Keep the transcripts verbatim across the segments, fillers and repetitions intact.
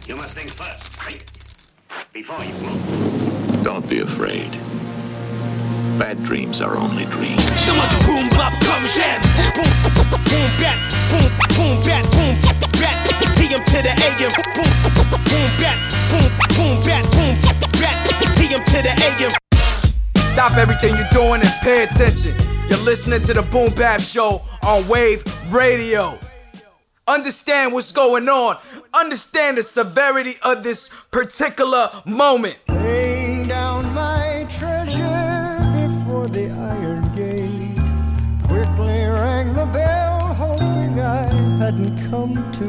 You must think first, think, before you move. Don't be afraid. Bad dreams are only dreams. Dommage boom bap comme j'aime. Boom boom bat, boom boom bat, boom bat. P M to the A M. Boom boom bat, boom boom bat, boom bat. P M to the A M. Stop everything you're doing and pay attention. You're listening to the Boom Bap Show on Wave Radio. Understand what's going on. Understand the severity of this particular moment. Laying down my treasure before the iron gate. Quickly rang the bell, hoping I hadn't come too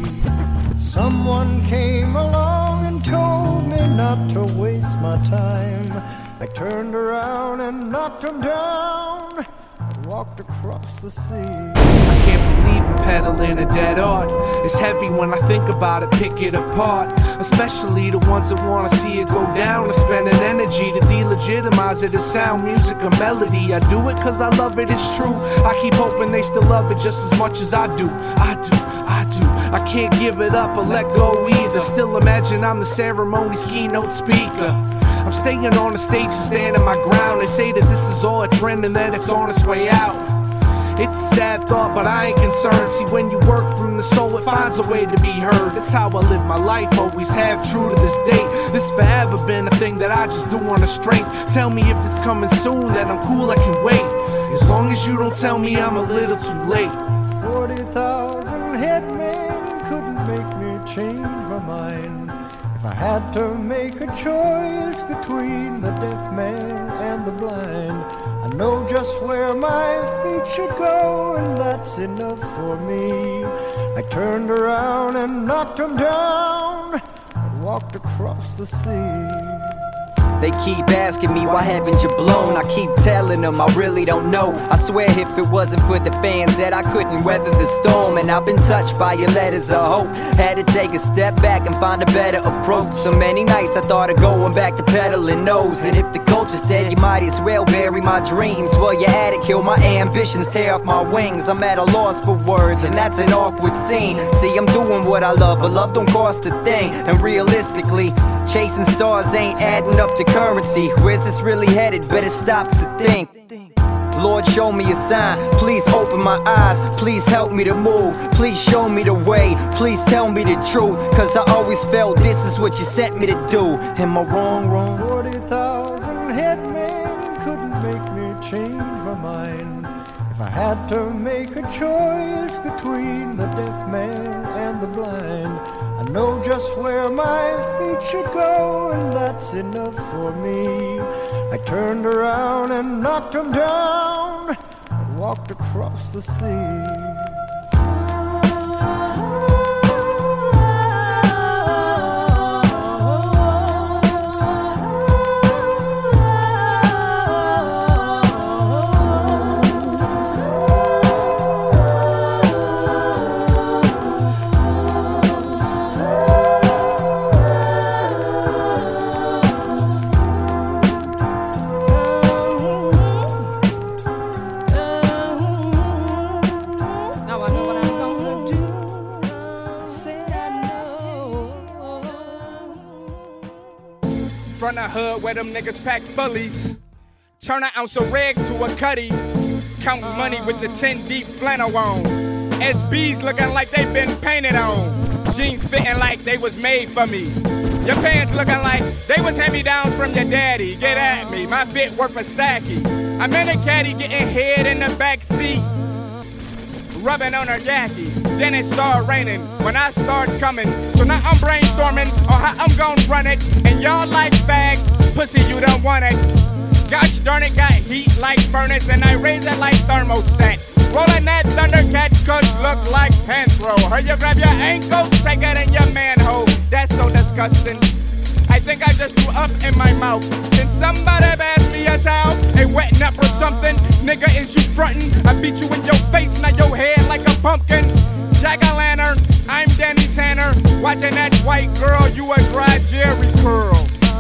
late. Someone came along and told me not to waste my time. I turned around and knocked him down and walked across the sea. I can't believe I'm peddling a dead art. It's heavy when I think about it, pick it apart. Especially the ones that wanna see it go down. I spend an energy to delegitimize it as sound, music, or melody. I do it cause I love it, it's true. I keep hoping they still love it just as much as I do. I do, I do. I can't give it up or let go either. Still imagine I'm the ceremony's keynote speaker. I'm staying on the stage and standing my ground. They say that this is all a trend and that it's on its way out. It's a sad thought, but I ain't concerned. See, when you work from the soul, it finds a way to be heard. That's how I live my life, always have, true to this day. This forever been a thing that I just do on the strength. Tell me if it's coming soon, that I'm cool, I can wait. As long as you don't tell me I'm a little too late. Forty thousand headmen couldn't make me change my mind. If I had to make a choice between the deaf man and the blind, I know just where my feet should go, and that's enough for me. I turned around and knocked him down and walked across the sea. They keep asking me, why haven't you blown? I keep telling them I really don't know. I swear if it wasn't for the fans that I couldn't weather the storm. And I've been touched by your letters of hope. Had to take a step back and find a better approach. So many nights I thought of going back to peddling nose. And if the culture's dead, you might as well bury my dreams. Well, you had to kill my ambitions, tear off my wings. I'm at a loss for words, and that's an awkward scene. See, I'm doing what I love, but love don't cost a thing. And realistically, chasing stars ain't adding up to currency. Where's this really headed? Better stop to think. Lord, show me a sign. Please open my eyes. Please help me to move. Please show me the way. Please tell me the truth. Cause I always felt this is what you sent me to do. Am I wrong, wrong? Forty thousand headmen couldn't make me change my mind. If I had to make a choice between the deaf man and the blind, I know just where my feet should go, and that's enough for me. I turned around and knocked him down and walked across the sea. From the hood where them niggas pack bullies. Turn an ounce of reg to a cutty. Count money with the ten deep flannel on. S Bs looking like they been painted on. Jeans fitting like they was made for me. Your pants looking like they was hand-me-downs from your daddy. Get at me, my fit worth a stacky. I'm in a caddy getting head in the back seat, rubbing on her khaki. Then it started raining when I started coming. So now I'm brainstorming on how I'm gonna run it. And y'all like fags, pussy you don't want it. Gosh darn it, got heat like furnace, and I raise it like thermostat. Rolling that Thundercat kush look like Panthro. Heard you grab your ankles, take it in your manhole. That's so disgusting. I think I just threw up in my mouth. Can somebody pass me a towel? A wet nut or something? Nigga, is you frontin'? I beat you in your face, now your head like a pumpkin. Jack-o'-lantern, I'm Danny Tanner. Watching that white girl, you a dry Jerry curl.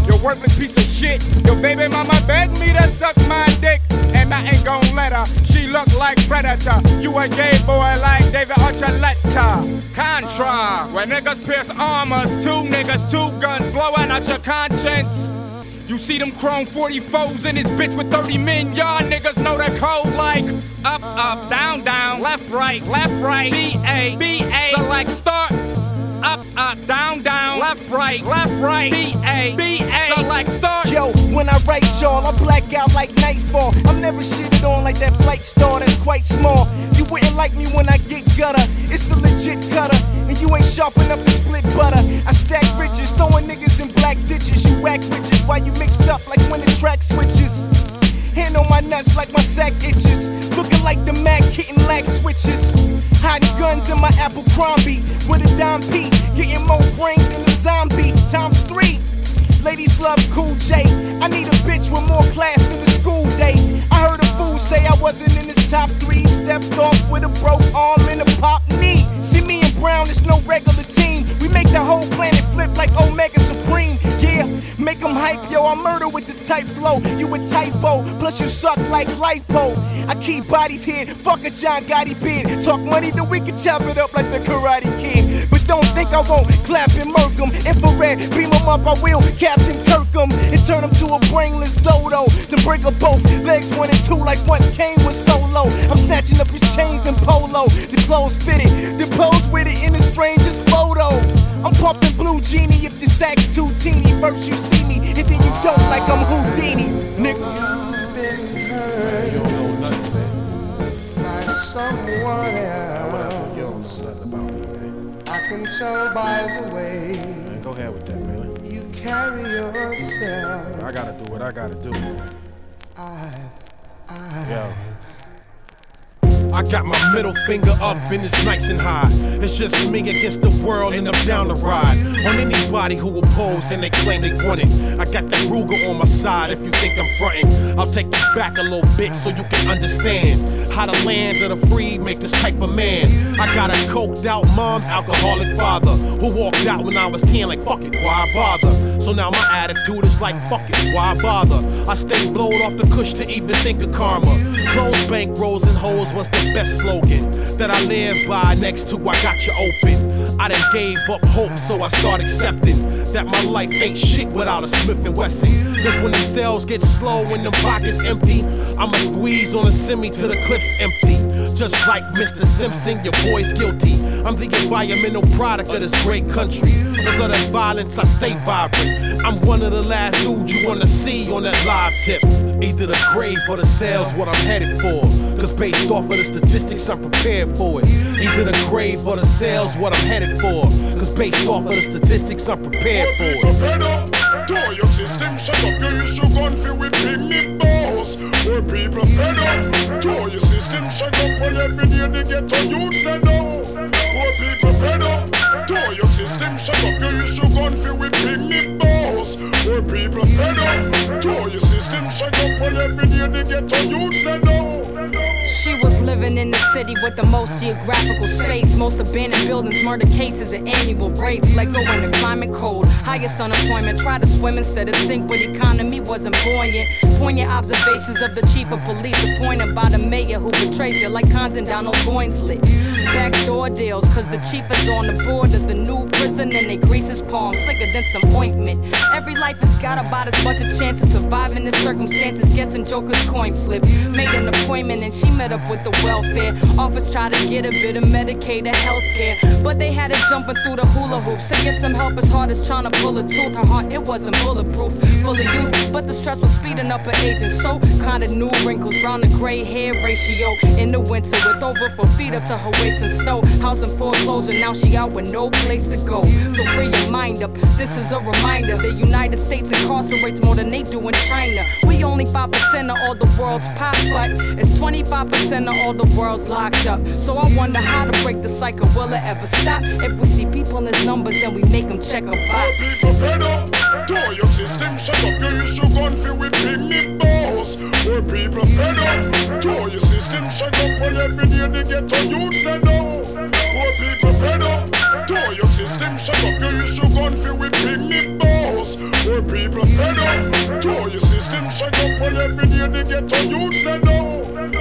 You worthless piece of shit. Your baby mama begged me to suck my dick, and I ain't gon' let her. She look like Predator. You a gay boy like David Archuleta. Contra, where niggas pierce armors, two niggas, two guns blowing out your conscience. You see them chrome forty-fours in this bitch with thirty men. Y'all niggas know the code like up, up, down, down, left, right, left, right, B A, B A. Select start. Up, up, down, down, left, right, left, right, B A, B A. Select start. Yo, when I write y'all, I black out like nightfall. I'm never shitted on like that flight star that's quite small. You wouldn't like me when I get gutter. It's the legit cutter. And you ain't sharp enough to split butter. I stack riches, throwing niggas in black ditches. You whack bitches while you mixed up like when the track switches. Hand on my nuts like my sack itches. Looking like the Mac hitting lack switches. Hiding guns in my Abercrombie with a dime P. Getting more brains than a zombie times three. Ladies love Cool J. I need a bitch with more class than the school day. I heard a fool say I wasn't in his top three. Stepped off with a broke arm and a pop knee. See me and Brown, it's no regular team. We make the whole planet flip like Omega Supreme. Yeah, make them hype, yo. I murder with this type flow. You a typo, plus you suck like lipo. I keep bodies here, fuck a John Gotti beard. Talk money, then we can chop it up like the Karate Kid. But don't think I won't clap and murk 'em. Infrared, beam 'em up, I will. Captain Kirkham, and turn 'em to a brainless dodo. Then break up both legs, one and two, like once Kane was solo. I'm snatching up his chains and polo. The clothes fitted, the pose with it in the strangest photo. I'm pumping Blue Genie if the sack's too teeny. First you see me, and then you don't like I'm Houdini, nigga. You don't know nothing, man. By someone else. Whatever, you don't know nothing about me, man. I can tell by the way Man, go ahead with that, man. you carry yourself. I gotta do what I gotta do, man. I, I. Yo. I got my middle finger up and it's nice and high. It's just me against the world and I'm down to ride on anybody who oppose and they claim they want it. I got that Ruger on my side if you think I'm frontin'. I'll take you back a little bit so you can understand how the land of the free make this type of man. I got a coked out mom's alcoholic father who walked out when I was ten like fuck it, why bother? So now my attitude is like fuck it, why bother? I stay blowed off the cush to even think of karma. Close bank rolls and hoes was the best slogan that I live by next to I got you open. I done gave up hope so I start accepting that my life ain't shit without a Smith and Wesson. Cause when the sales get slow and the pockets empty, I'ma squeeze on a semi till the clip's empty. Just like Mister Simpson, your boy's guilty. I'm the environmental product of this great country. Cause of that violence I stay vibrant. I'm one of the last dudes you wanna see on that live tip. Either the grave or the sales what I'm headed for. Cause based off of the statistics I'm prepared for it. Either the grave or the sales what I'm headed for. Cause based off of the statistics I'm prepared for it. Fed up, to your system, shut up your issue gun feel with big me balls. Where people fed up, to your system, shut up when every day they get on you stand up. Poor people fed up, to your system, shut up your issue gun feel with big me balls. Where people fed up, to your system, shut up when every day they get on you stand up. She was living in the city with the most geographical space, most abandoned buildings, murder cases, and annual rapes. Let go in the climate cold, highest unemployment. Try to swim instead of sink, but economy wasn't buoyant. Poignant observations of the chief of police, appointed by the mayor who betrayed you like Compton down on Goinslet. Backdoor deals, cause the chief is on the board of the new prison and they grease his palms slicker than some ointment. Every life has got about as much a chance of surviving the circumstances. Guessing Joker's coin flip. Made an appointment and she met up with the welfare office, tried to get a bit of Medicaid or healthcare, but they had her jumping through the hula hoops to get some help as hard as trying to pull a tooth. Her heart, it wasn't bulletproof, full of youth, but the stress was speeding up her age, and so kinda new wrinkles round the gray hair ratio. In the winter with over four feet up to her waist in snow, house in foreclosure, now she out with no place to go. So free your mind up, this is a reminder, the United States incarcerates more than they do in China. We only five percent of all the world's pop, but it's twenty-five percent of all the world's locked up. So I wonder how to break the cycle, will it ever stop? If we see people in numbers and we make them check a box. People fed up, to your system, shut up your issue gun feel with big me balls. Where people fed up, to your system, shut up when every day they get on you stand up. Poor people fed up, to your system, shut up your issue gun feel with big me balls. Where people fed every day the ghetto youth they know.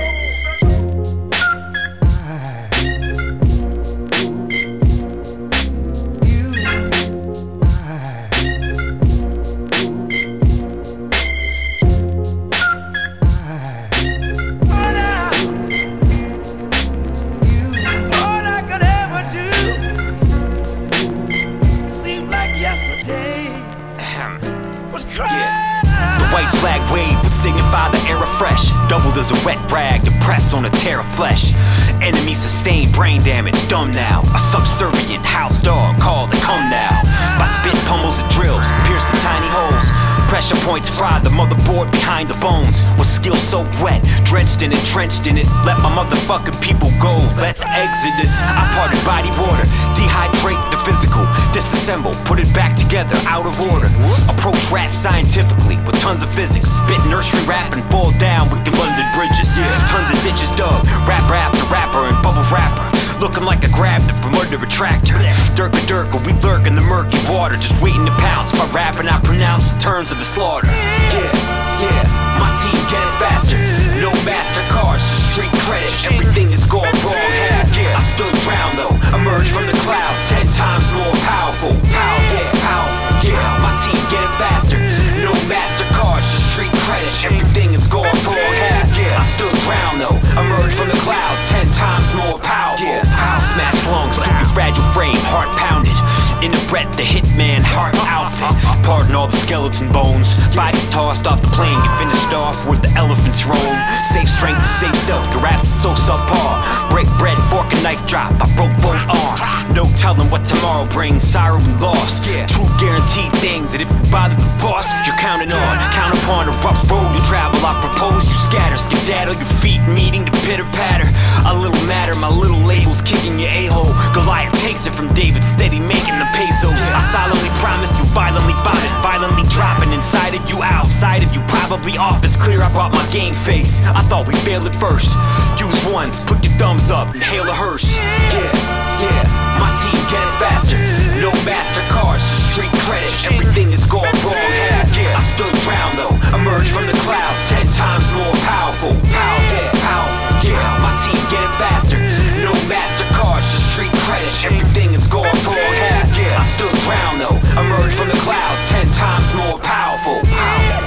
Signify the era fresh, doubled as a wet rag, depressed on a tear of flesh. Enemy sustained brain damage, dumb now. A subservient house dog called to come now. My spit pummels and drills, pierce the tiny holes. Pressure points fry the motherboard behind the bones. With skill soaked wet, drenched in it, trenched in it. Let my motherfucking people go, let's exodus. I parted body water, dehydrate the physical. Disassemble, put it back together, out of order. Approach rap scientifically, with tons of physics. Spit nursery rap and boil down with the London bridges. Tons of ditches dug, rapper after rapper and bubble rapper. Looking like I grabbed it from under a tractor. Dirk a dirk, we lurk in the murky water, just waiting to pounce. By rapping, I pronounce the terms of the slaughter. Yeah, yeah, my team get it faster. No MasterCards, just street credit. Everything is going wrong has. Yeah, I stood ground though, emerged from the clouds, ten times more powerful. Powerful, powerful. Yeah, my team get it faster. No MasterCards, just street credit. Everything is going wrong has. Yeah, I stood ground though, emerged from the clouds, ten times more powerful. Yeah. Smash lungs, stupid fragile brain, heart pounded. In the breath, the hitman, heart outfit. Pardon all the skeleton bones. Bodies tossed off the plane, get finished off where the elephants roam. Safe strength to save self, your raps is so subpar. Break bread, fork and knife drop, I broke both arms. No telling what tomorrow brings, sorrow and loss. Two guaranteed things that if you bother the boss, you're counting on. Count upon a rough road you travel, I propose you scatter. Skedaddle your feet, meeting the pitter patter. A little matter, my little label's kicking your a-hole. Goliath takes it from David, steady making the pesos. I solemnly promise you violently bought it, violently dropping inside of you, outside of you, probably off. It's clear I brought my game face. I thought we failed at first. Use ones, put your thumbs up, and hail a hearse. Yeah, yeah, my team get it faster. No MasterCards, just street credit. Everything is going wrong has. Yeah, I stood ground though, emerged from the clouds, ten times more powerful. Powerful, powerful. Yeah, my team get it faster. No MasterCards, just street credit. Everything is going wrong has. Yeah, I stood ground though, emerged from the clouds, ten times more powerful. Powerful.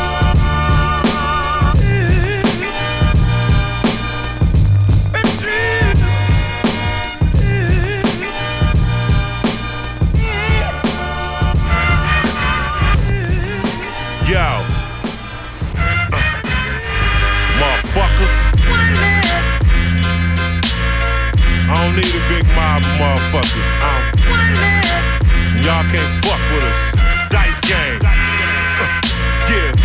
Yo, uh, motherfucker. I don't need a big mob of motherfuckers. Um, y'all can't fuck with us. Dice game. Uh, yeah.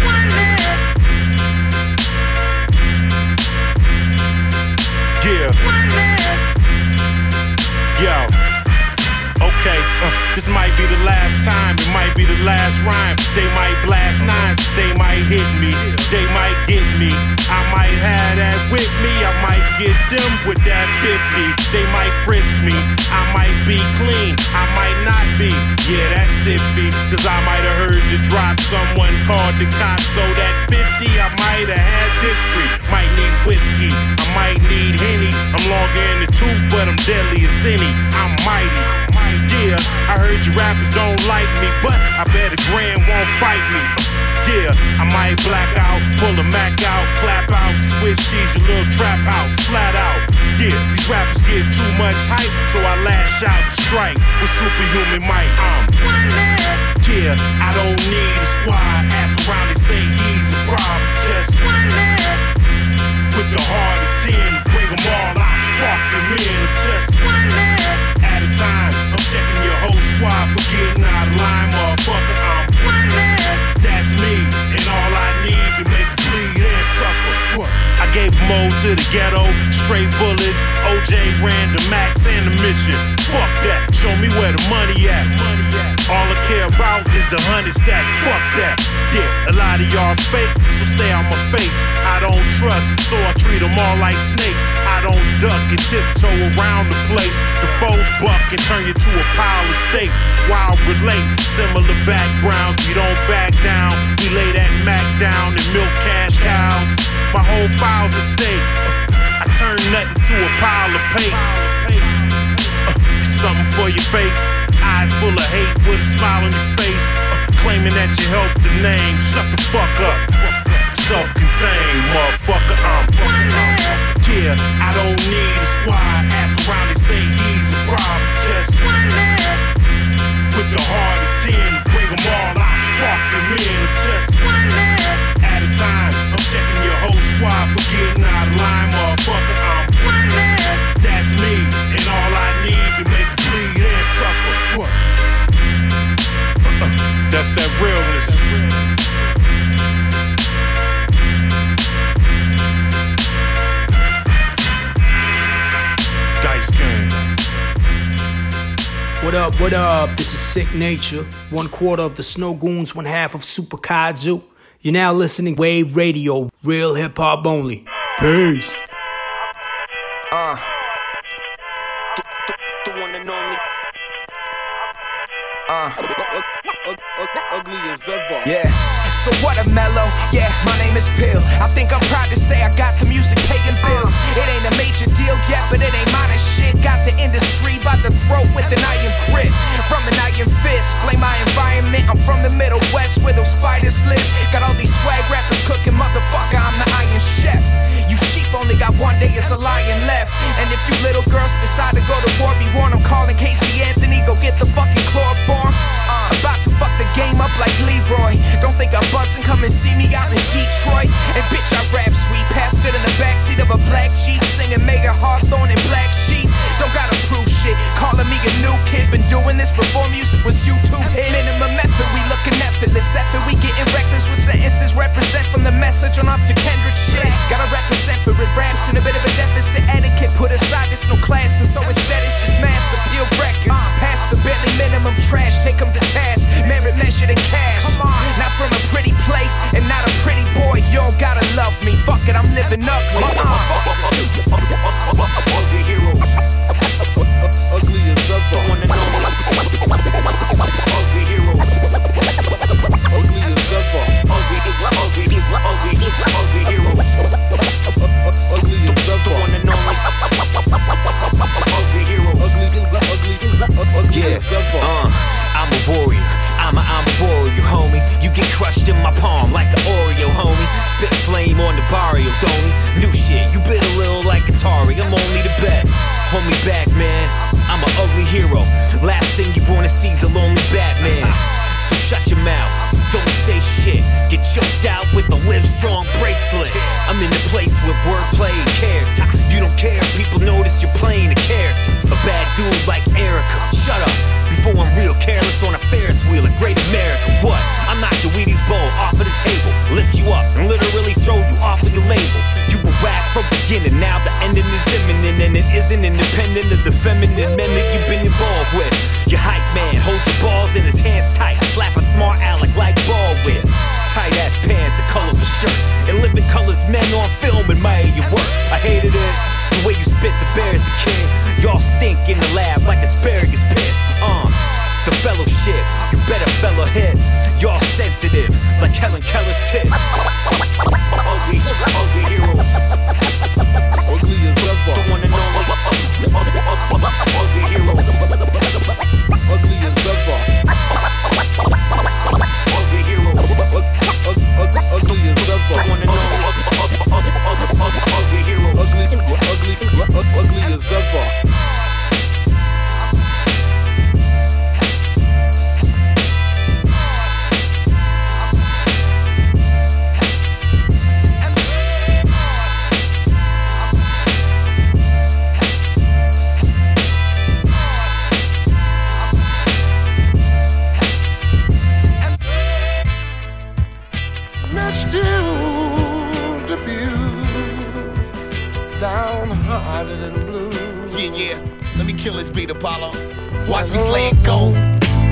Yeah. Yo. Okay, uh, this might be the last time, it might be the last rhyme. They might blast nines, they might hit me, they might get me. I might have that with me, I might get them with that fifty. They might frisk me, I might be clean, I might not be. Yeah, that's iffy, cause I might have heard the drop. Someone called the cops, so that fifty I might have had history. Might need whiskey, I might need Henny. I'm longer in the tooth, but I'm deadly as any. I'm mighty. Yeah, I heard you rappers don't like me, but I bet a grand won't fight me. Yeah, I might black out, pull a Mac out, clap out, switch sheets, your little trap house, flat out. Yeah, these rappers get too much hype, so I lash out and strike with superhuman might. Um, yeah, I don't need a squad. Ask around, they say he's a problem. Just with the heart of ten, bring them all, I spark them in. Just at a time, I'm checking your whole squad for getting out of line, motherfucker. I'm that's me, and all I need to make you bleed and suffer. What? I gave Mo to the ghetto, straight bullets. O J ran the max and the mission. Fuck that, show me where the money at. Money at. All I care about is the hundred stacks. Fuck that. Yeah, a lot of y'all fake, so stay out my face. I don't trust, so I treat them all like snakes. I don't duck and tiptoe around the place. The foes buck and turn you to a pile of steaks. While relate similar backgrounds, we don't back down. We lay that Mac down and milk cash cows. My whole file's at stake. I turn nothing to a pile of papes. Uh, something for your fakes. Eyes full of hate with a smile on your face. Uh, claiming that you helped the name. Shut the fuck up. Self-contained, motherfucker. I'm yeah, I don't need a squad. Ask around and say he's a problem. Just with the heart of ten, bring them all. I spark them in. Just at a time. I'm checking your whole squad for getting out of line, motherfucker. I'm that's me, and all I need to make you bleed and suffer. What? Uh-uh. That's that realness. Dice game. What up, what up? This is Sick Nature. One quarter of the Snow Goons, one half of Super Kaiju. You're now listening to Wave Radio, real hip hop only. Peace. Uh. The, the, the one and only. Uh. Ugly as ever. Yeah. So what a mellow, yeah, my name is Pill. I think I'm proud to say I got the music paying bills. It ain't a major deal yet, but it ain't mine as shit. Got the industry by the throat with an iron grip. From an iron fist, blame my environment. I'm from the Middle West where those spiders live. Got all these swag rappers cooking, motherfucker, I'm the iron chef. You sheep only got one day, it's a lion left. And if you little girls decide to go to war, be warned, I'm calling Casey Anthony, go get the fucking chloroform. Uh, about to fuck the game up like Leroy. Don't think I'm buzzing, come and see me out in Detroit. And bitch, I rap sweet, passed it in the backseat of a black Jeep, singing Megan Hawthorne and Black Sheep. Don't gotta prove shit, calling me a new kid. Been doing this before music was YouTube hits. Minimum effort, we looking effortless. After we getting reckless with sentences, represent from the message on up to Kendrick shit. Gotta represent for it, raps in a bit of a deficit. Etiquette put aside, there's no class, and so instead it's just mass appeal records. Past the barely minimum trash, take them to task. Merit measured in cash. Not from a pretty place and not a pretty boy. You don't gotta love me. Fuck it, I'm living ugly. Ugly heroes. Ugly as ever. Ugly heroes. Ugly as ever. Ugly, ugly, ugly, ugly heroes. Ugly as ever. Ugly heroes. Ugly, yeah. as ever. Uh, I'm a warrior. I'm a, I'm a warrior, homie. You get crushed in my palm like an Oreo, homie. Spit flame on the barrio, don't New shit, you bit a little like Atari. I'm only the best. Hold me back, man. I'm an ugly hero. Last thing you wanna see is a lonely Batman. So shut your mouth, don't say shit. Get choked out with a Live Strong bracelet. I'm in the place with wordplay and character. You don't care, people notice you're playing a character. A bad dude like Erica, shut up before I'm real careless on a Ferris wheel at Great America. What? I'm not your Wheaties bowl off of the table, lift you up and literally throw you off of your label. You were whack from beginning, now the ending is imminent, and it isn't independent of the feminine men that you've been involved with. Your hype man holds your balls in his hands tight, slap a smart aleck like Baldwin. Tight ass pants and colorful shirts, and living colors men on film admire your work. I hated it, the way you spit to bears a kid. Y'all stink in the lab like asparagus pits. Uh, the fellowship, you better fellow hit. Y'all sensitive like Helen Keller's tits. Ugly, ugly heroes. Ugly as ever. The one and only ugly heroes. Ugly as ever. Ugly heroes. Ugly as ever. The one and only ugly heroes. Ugly, ugly, ugly as ever. Yeah, yeah. Let me kill this beat, Apollo. Watch me slay it go.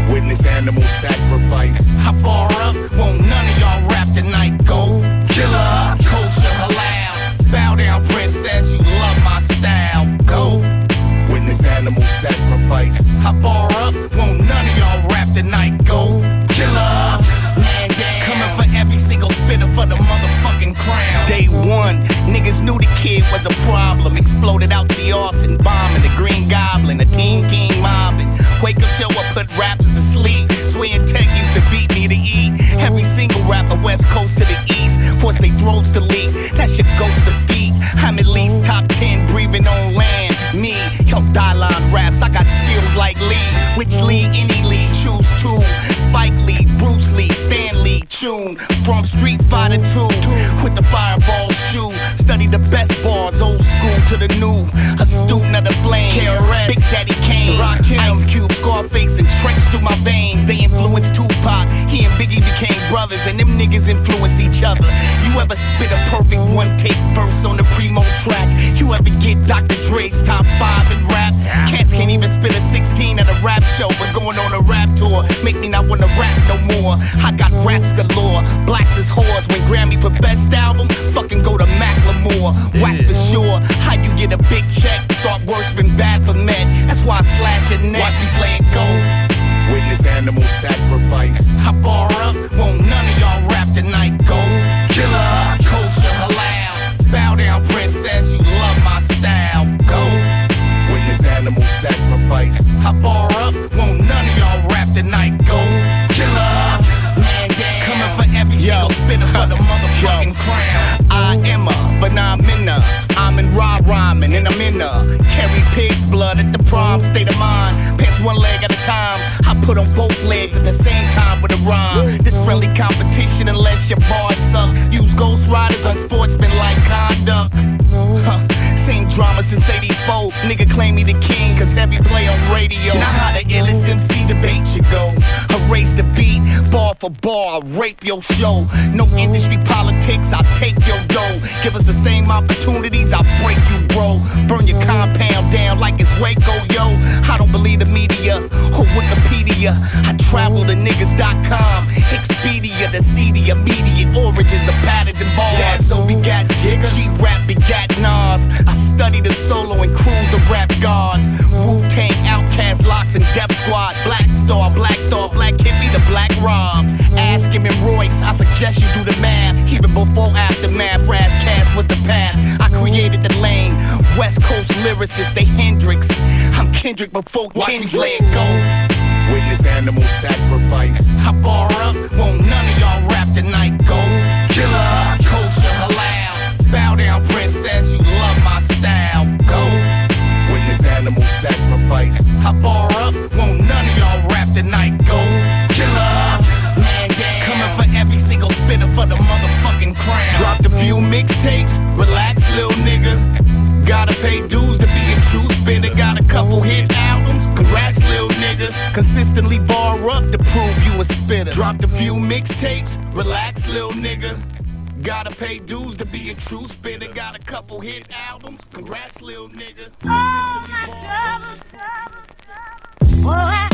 Witness animal sacrifice. I bar up, won't none of y'all rap tonight. Go killer, kosher, halal. Bow down, princess, you love my style. Go witness animal sacrifice. I bar up, won't none of y'all rap tonight. Go killer, man down. Coming for every single spitter for the motherfucking crown. Day one, niggas knew the kid was a problem. Exploded out the Austin, bombing the Green Goblin, a Team King mobbing. Wake up till I put rappers to sleep. Sway and Tech used to beat me to eat. Every single rapper, West Coast to the East, force they throats to leak. That shit goes to feet. I'm at least top ten, breathing on land. Me, yo, die-line raps, I got skills like Lee. Which league, any league, choose two. Spike Lee, Bruce Lee, Stan Lee, tune. From Street Fighter two, with the fireball shoe. Study the best bars, old school to the new. A student of the flame, K R S, Big Daddy Kane, Ice Cube, Scarface, and Trench through my veins. They influenced Tupac, he and Biggie became brothers, and them niggas influenced each other. You ever spit a perfect one-take verse on the Primo track? You ever get Doctor Dre's top five in rap? Cats can't even spit a sixteen at a rap show, but going on a rap tour make me not wanna rap no more. I got raps galore, blacks is whores. When Grammy for best album, fucking go to Macklemore. Whack for sure, how you get a big check? Start worshiping bad for men, that's why I slash your neck. Watch me slay it go. Witness animal sacrifice. I bar up, won't none of y'all rap tonight. Go killer, kosher, halal. Bow down, princess, you love my style. Go witness animal sacrifice. I bar up, won't none of y'all rap tonight. Go killer, man down. Coming for every single spitter for the motherfucking crown. I am a phenomena. I'm in raw rhyming and I'm in a carry pig's blood at the prom state of mind. Pants one leg at a time. I put on both legs at the same time with a rhyme. This friendly competition unless your bars suck. Use ghost riders on sportsman-like conduct. Huh. Same drama since eighty-four. Nigga claim me the king cause heavy play on radio. Now how the illest M C debate should go. Erase the beat, bar for bar, I'll rape your show. No industry politics, I'll take your dough. Give us the same opportunities, I'll break you, bro. Burn your compound down like it's Waco, yo. I don't believe the media or Wikipedia. I travel to niggas dot com. Expedia, the seedy immediate origins of patterns and bars. Jazz so begat Jigga, G-Rap begat Nas. I study the solo and cruise of rap gods. Wu-Tang, Outkast, Locks, and Def Squad. Black Star, Black Star, Black Hippie, the Black Rob. Ask him and Royce, I suggest you do the math. Even before aftermath, Razzcast was the path. I created the lane. West Coast lyricists, they Hendrix. I'm Kendrick before King's let go. Witness animal sacrifice. I bar up, won't none of y'all rap tonight. Go killer, kosher, halal. Bow down, princess, you love my style. Go witness animal sacrifice. I bar up, won't none of y'all rap tonight. Go killer, man down. Coming for every single spitter for the motherfucking crown. Dropped a few mixtapes, relax, little nigga. Gotta pay dues to be a true spitter. Got a couple hit albums, congrats, little nigga. Consistently bar up to prove you a spitter. Dropped a few mixtapes, relax, little nigga. Gotta pay dues to be a true spitter. Got a couple hit albums, congrats, little nigga. Oh, my troubles, troubles, troubles. Boy, I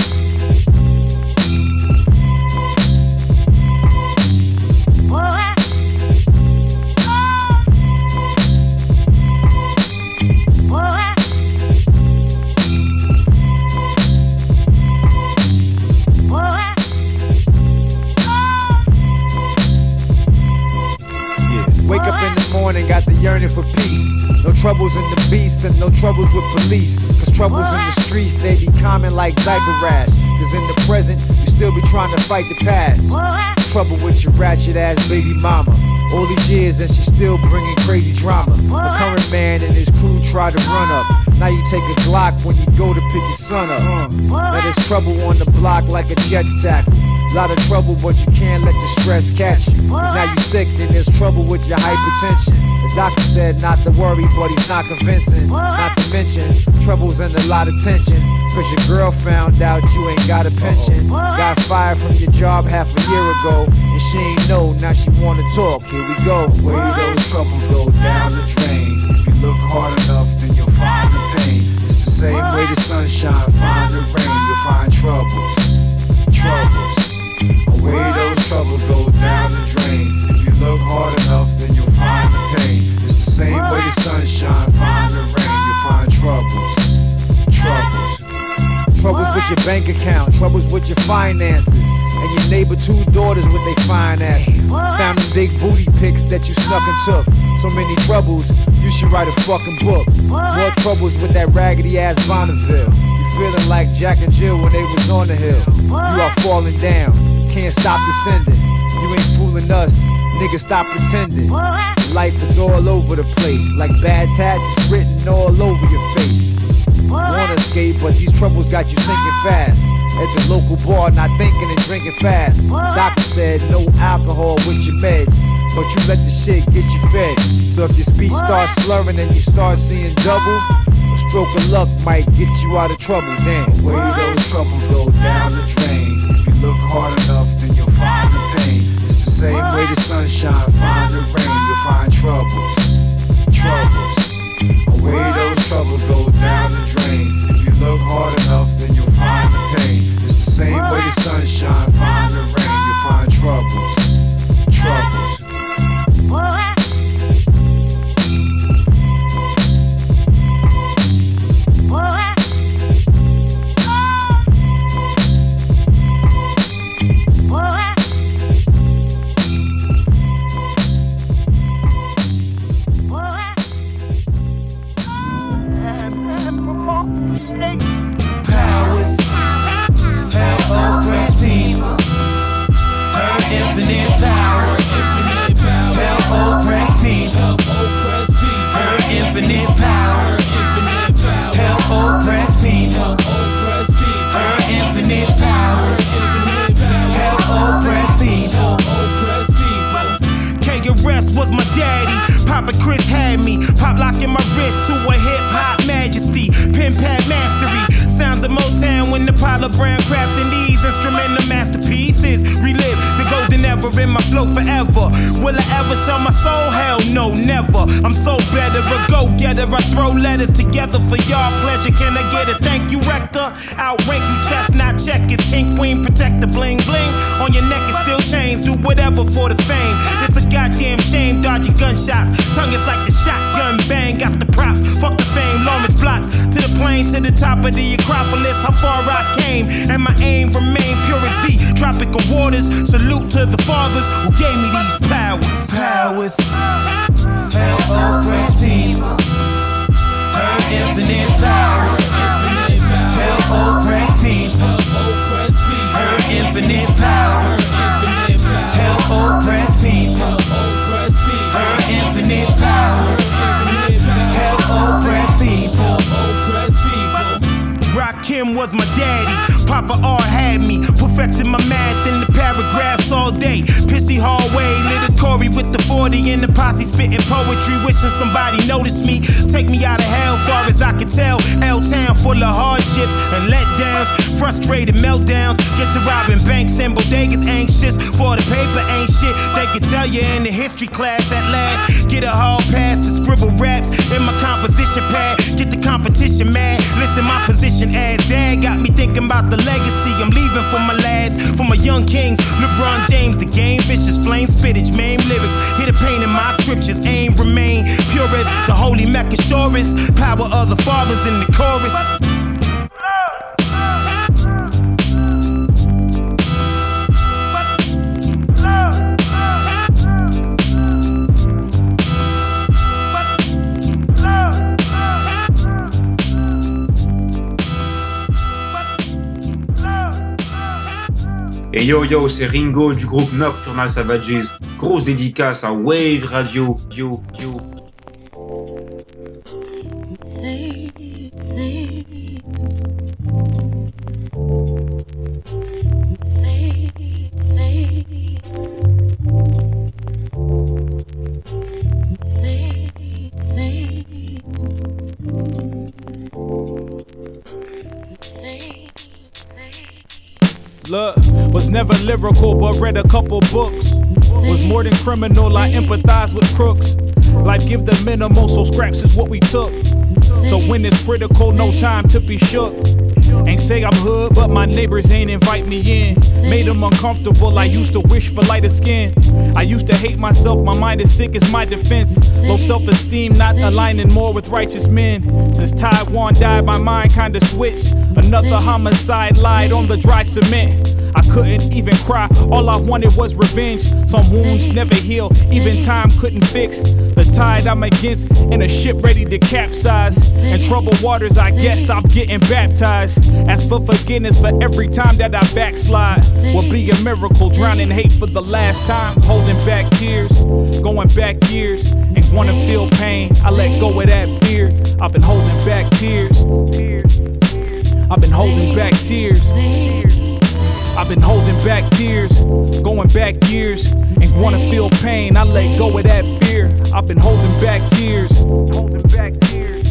Boy, I Wake up in the morning, got the yearning for peace. No troubles in the beast and no troubles with police. Cause troubles in the streets, they be common like diaper rash. Cause in the present, you still be trying to fight the past. Trouble with your ratchet ass baby mama. All these years and she still bringing crazy drama. A current man and his crew try to run up. Now you take a Glock when you go to pick your son up. Uh, now there's trouble on the block like a Jets tackle. Lot of trouble, but you can't let the stress catch you. Cause now you sick, then there's trouble with your hypertension. The doctor said not to worry, but he's not convincing. Not to mention, trouble's and a lot of tension. Cause your girl found out you ain't got a pension. Got fired from your job half a year ago, and she ain't know, now she wanna talk. Here we go. Where those troubles go down the drain. If you look hard enough, then you'll find the pain. It's the same way the sunshine find the rain, you'll find troubles. bank account, troubles with your finances. And your neighbor two daughters with they fine asses. Found them big booty pics that you snuck and took. So many troubles, you should write a fucking book. More troubles with that raggedy ass Bonneville. You feeling like Jack and Jill when they was on the hill. You are falling down, can't stop descending. You ain't fooling us, nigga, stop pretending. Life is all over the place, like bad tats written all over your face. Wanna escape, but these troubles got you sinking fast. At the local bar, not thinking and drinking fast. Doctor said no alcohol with your meds, but you let the shit get you fed. So if your speech starts slurring and you start seeing double, a stroke of luck might get you out of trouble. Damn, the way those troubles go down the drain. If you look hard enough, then you'll find the pain. It's the same way the sunshine find the rain. You'll find troubles, troubles. The way those troubles go down the drain. If you look hard enough, then you'll find the pain. It's the same way the sunshine find the rain. You'll find troubles, troubles. Was my daddy, Papa Chris had me, pop locking my wrist to a hip hop majesty, pin pad mastery, sounds of Motown when the Apollo Brown crafting these instrumental masterpieces, relive the golden era in my flow forever. Will I ever sell my soul? Hell no, never. I'm so better, a go-getter. I throw letters together for y'all pleasure. Can I get a thank you, Rector? Outrank you, chestnut checkers, king, queen, protect the bling bling on your neck is still chains. Do whatever for the fame. It's a goddamn shame, dodging gunshots. Tongue is like the shotgun bang. Got the props, fuck the fame. Lawrence blocks to the plane, to the top of the Acropolis. How far I came, and my aim remain pure as the tropical waters. Salute to the fathers who gave me these powers. Powers. Hell, oppressed people. Her infinite power. Hell, oppressed people. Her infinite power. Hell, oppressed people. Her infinite power. Hell, oppressed people. Rakim was my daddy. Papa R had me, perfecting my math in the paragraphs all day. Pissy hallway, little Corey with the forty in the posse, spitting poetry, wishing somebody noticed me. Take me out of hell, far as I could tell. L-town full of hardships and letdowns, frustrated meltdowns. Get to robbing banks and bodegas, anxious for the paper ain't shit. They could tell you in the history class at last. Get a hall pass to scribble raps in my composition pad. Get the competition mad. Listen, my position as dad got me thinking about the legacy I'm leaving for my lads, for my young kings. LeBron James, the game, vicious flame, spittage, maim lyrics. Hit a pain in my scriptures, aim remain pure as the holy Mecca shorest. Power of the fathers in the chorus. Et yo yo, c'est Ringo du groupe Nocturnal Savages. Grosse dédicace à Wave Radio. Yo yo. Look, was never lyrical but read a couple books. Was more than criminal, I empathize with crooks. Life give the minimal, so scraps is what we took. So when it's critical, no time to be shook. Ain't say I'm hood, but my neighbors ain't invite me in. Made them uncomfortable, I used to wish for lighter skin. I used to hate myself, my mind is sick as my defense. Low self-esteem, not aligning more with righteous men. Since Taiwan died, my mind kinda switched. Another homicide lied on the dry cement. I couldn't even cry, all I wanted was revenge. Some wounds never heal, even time couldn't fix. The tide I'm against, in a ship ready to capsize. In troubled waters, I guess I'm getting baptized. Ask for forgiveness for every time that I backslide. Will be a miracle, drowning hate for the last time. Holding back tears, going back years. Ain't wanna feel pain, I let go of that fear. I've been holding back tears. I've been holding back tears. I've been holding back tears, going back years. Ain't wanna feel pain, I let go of that fear. I've been holding back tears, holding back tears.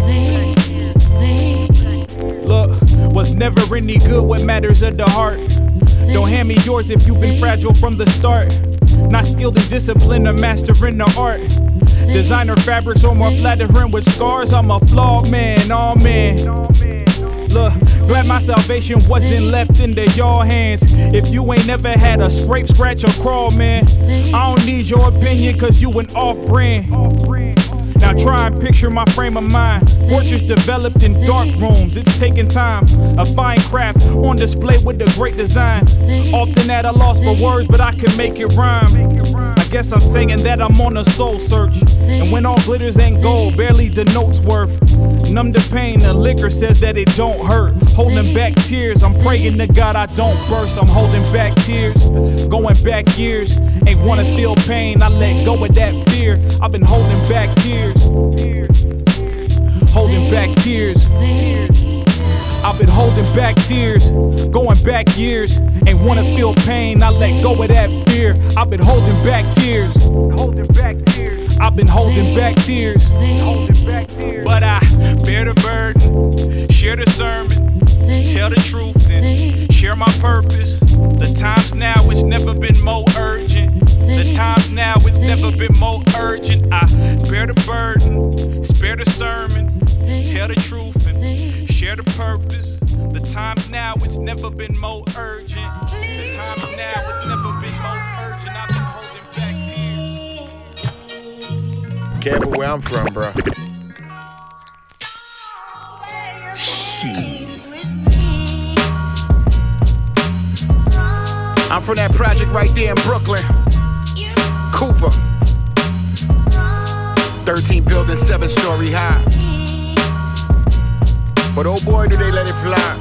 Look, was never any good, what matters of the heart. Don't hand me yours if you've been fragile from the start. Not skilled in discipline or mastering the art. Designer fabrics or more flattering with scars. I'm a flawed man, oh man. Look, glad my salvation wasn't left into your hands. If you ain't never had a scrape, scratch, or crawl, man, I don't need your opinion, cause you an off-brand. Now try and picture my frame of mind. Portraits developed in dark rooms, it's taking time. A fine craft on display with a great design. Often at a loss for words, but I can make it rhyme. I guess I'm saying that I'm on a soul search. And when all glitters ain't gold, barely denotes worth. Numb the pain, the liquor says that it don't hurt. Holding back tears, I'm praying to God I don't burst. I'm holding back tears, going back years. Ain't wanna feel pain, I let go of that fear. I've been holding back tears, holding back tears. I've been holding back tears, going back years. Ain't wanna feel pain, I let go of that fear. I've been holding back tears, holding back tears. I've been holding back tears, holding back tears. But I bear the burden, share the sermon, tell the truth and share my purpose. The times now, it's never been more urgent. The times now, it's never been more urgent. I bear the burden, spare the sermon, tell the truth and share the purpose. The times now, it's never been more urgent. The times now, it's never been more urgent. I've been holding back tears. Careful where I'm from, bro. Shit. I'm from that project right there in Brooklyn. Cooper. thirteen buildings, seven story high. But oh boy, do they let it fly.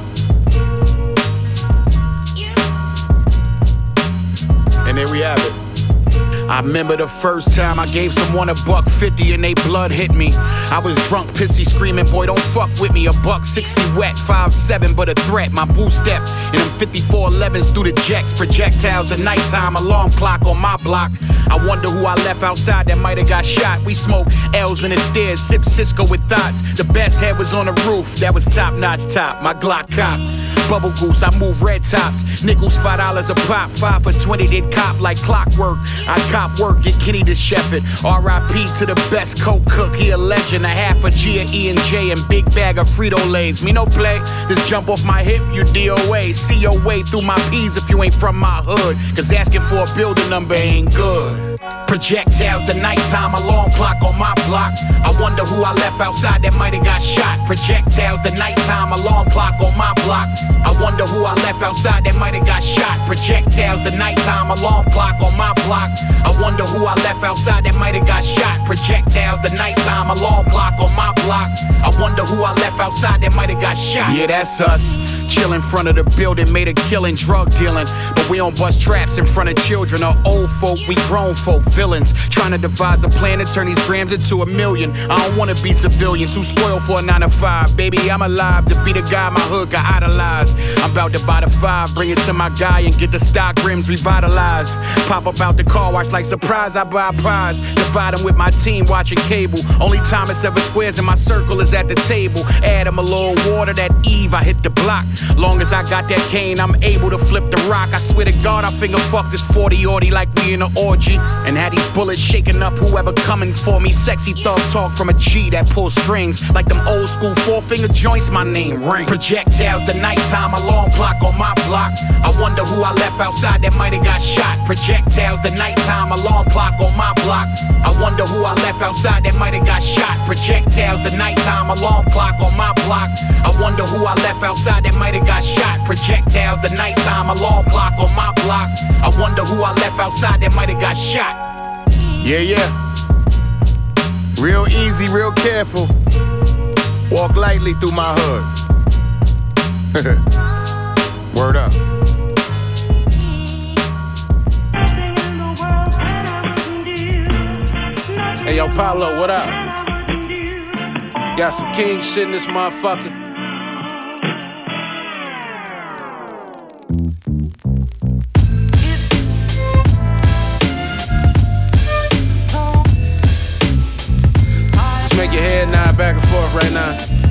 And there we have it. I remember the first time I gave someone a buck fifty and they blood hit me. I was drunk, pissy, screaming, boy, don't fuck with me. A buck sixty wet, five seven, but a threat. My boo step in them fifty-four elevens through the jacks. Projectiles at nighttime, alarm clock on my block. I wonder who I left outside that might have got shot. We smoke L's in the stairs, sip Cisco with thoughts. The best head was on the roof, that was top notch top. My Glock cop. Bubble goose, I move red tops. Nickels, five dollars a pop. Five for twenty, then cop like clockwork. I cop work, get Kenny to chef it. R I P to the best coke cook. He a legend. A half a G of E and J and big bag of Frito-Lays. Me no play, just jump off my hip, you D O A. See your way through my P's if you ain't from my hood. Cause asking for a building number ain't good. Projectiles, the nighttime alarm clock on my block. I wonder who I left outside that might have got shot. Projectiles, the nighttime alarm clock on my block. I wonder who I left outside that might have got shot. Projectiles, the nighttime alarm clock on my block. I wonder who I left outside that might have got shot. Projectiles, the nighttime alarm clock on my block. I wonder who I left outside that might have got shot. Yeah, that's us. Chill in front of the building, made a killing, drug dealing. But we don't bust traps in front of children or old folk. We grown folk, villains. Trying to devise a plan to turn these grams into a million. I don't wanna be civilian, too spoiled for a nine to five. Baby, I'm alive to be the guy my hood got idolized. I'm about to buy the five, bring it to my guy and get the stock rims revitalized. Pop up out the car wash like surprise, I buy a prize. Divide them with my team watching cable. Only time it's ever squares in my circle is at the table. Add them a little water, that Eve, I hit the block. Long as I got that cane, I'm able to flip the rock. I swear to God, I finger fuck this forty-orty like we in an orgy. And had these bullets shaking up whoever coming for me. Sexy thug talk from a G that pulls strings. Like them old school four finger joints, my name ring. Projectiles, the nighttime alarm clock on my block. I wonder who I left outside that might have got shot. Projectiles, the nighttime alarm clock on my block. I wonder who I left outside that might have got shot. Projectiles, the nighttime alarm clock on my block. I wonder who I left outside that might have got shot. Projectiles, the nighttime alarm clock on my block. I wonder who I left outside that might have got shot. Yeah, yeah. Real easy, real careful. Walk lightly through my hood. Word up. Hey, yo, Paulo, what up? Got some king shit in this motherfucker. Just make your head nod back and forth right now.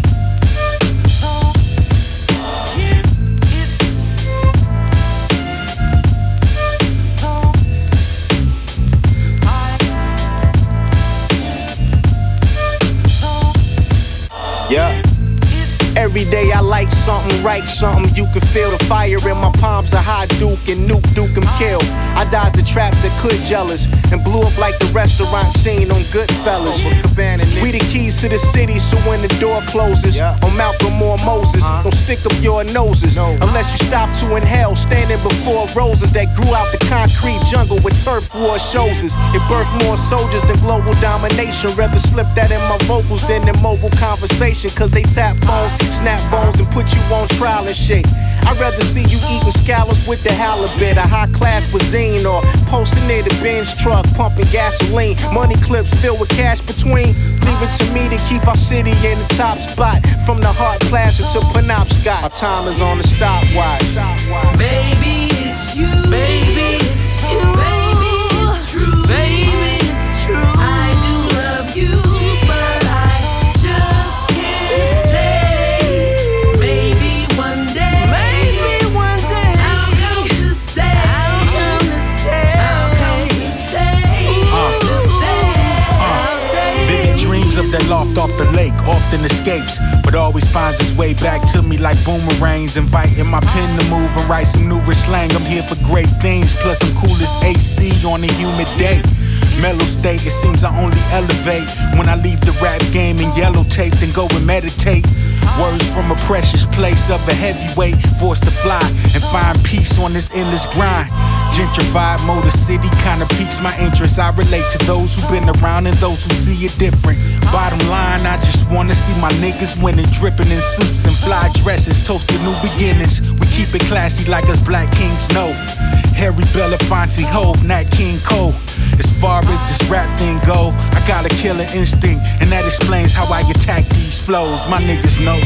Yeah. Every day I like something, write something. You can feel the fire in my palms. A high Duke and Nuke Duke and kill. I dodged the traps that could jealous and blew up like the restaurant scene on Goodfellas. We the keys to the city, so when the door closes, on Malcolm or Moses, don't stick up your noses unless you stop to inhale. Standing before roses that grew out the concrete jungle with turf war shows us. It birthed more soldiers than global domination. Rather slip that in my vocals than in mobile conversation, cause they tap phones, snap bones, and put you on trial and shit. I'd rather see you eating scallops with the halibut, a high class cuisine, or posting near the Benz truck, pumping gasoline. Money clips filled with cash between. Leave it to me to keep our city in the top spot, from the Hart Plaza to Penobscot. Our time is on the stopwatch. Baby, it's you. Baby, it's you. Baby, it's true. Baby, it's true. I do love you, but I just can't stay. Maybe one day. Maybe one day. I'll come to stay. I'll come to stay. I'll come to stay. Uh, to stay. I'll stay. Vivid dreams of that loft off the lake often escapes, but always finds its way back to me like boomerangs. Inviting my pen to move and write some new slang. I'm here for great things, plus I'm cool as A C on a humid day. Mellow state, it seems I only elevate when I leave the rap game in yellow tape, then go and meditate. Words from a precious place of a heavyweight, forced to fly and find peace on this endless grind. Gentrified Motor City kinda piques my interest. I relate to those who've been around and those who see it different. Bottom line, I just wanna see my niggas winning, dripping in suits and fly dresses, toast to new beginnings. We keep it classy like us black kings know. Harry Belafonte, Hove, Nat King Cole. As far as this rap thing go, I got a killer instinct, and that explains how I attack these flows. My niggas know.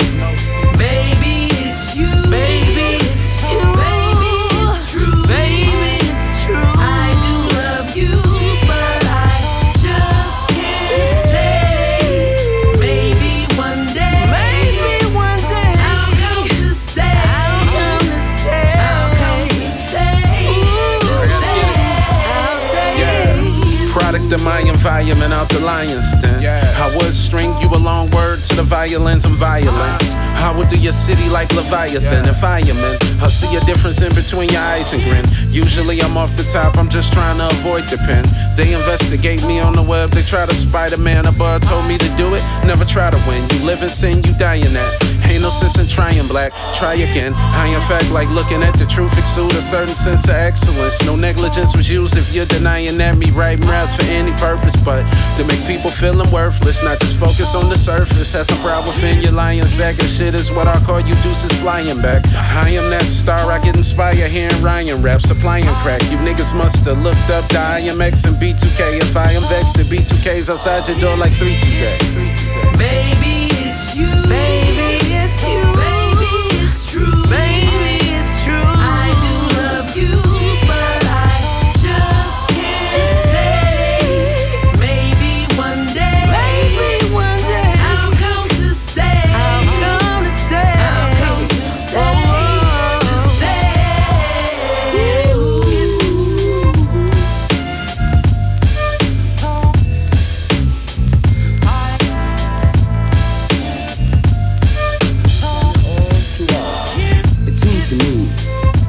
Baby, it's you. Baby, it's you. Baby, it's true. Baby, it's true. I do love you, but I just can't stay. Maybe one day. Maybe one day. I'll come to stay. I'll come to stay. I'll come to stay. To stay. I'll stay. Product of my environment out the lion's den. Yeah. I would string you a long word to the violins, I'm violent. I would do your city like Leviathan yeah. and fireman. I see a difference in between your eyes and grin. Usually I'm off the top, I'm just trying to avoid the pen. They investigate me on the web, they try to Spider-Man. A bud told me to do it, never try to win. You live in sin, you die in that. Ain't no sense in trying black, try again. I in fact like looking at the truth exude a certain sense of excellence. No negligence was used if you're denying that me writing raps for any purpose, but to make people feeling worthless, not just focus on the surface. Has some pride within your lion sack and shit is what I call you deuces flying back. I am that star, I get inspired hearing Ryan rap, supplying crack. You niggas must have looked up to I M X and B two K. If I am vexed, the B two K's outside your door like three two K. Baby, it's you. Baby, it's you. Baby, it's true. Baby, it's true. I do love you, but I just can't stay. Maybe one day. Maybe one day. I'll come to stay. I'll come to stay. I'll come to stay.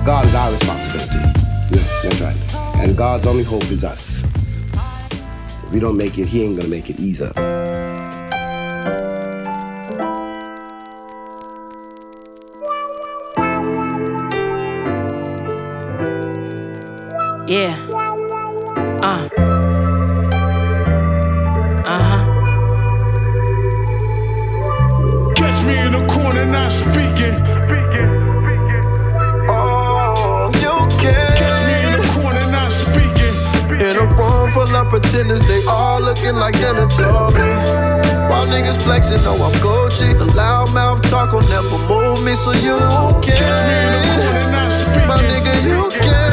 God is our responsibility. Yeah, that's right. And God's only hope is us. If we don't make it, he ain't gonna make it either. Yeah. Uh. Uh-huh. Catch me in the corner not speaking. Oh, you can. Catch me in the corner not speaking. In a room full of pretenders, they all looking like Dennis Tubby. While niggas flexing, know I'm Gucci. The loud mouth talk will never move me, so you can. My nigga, you can.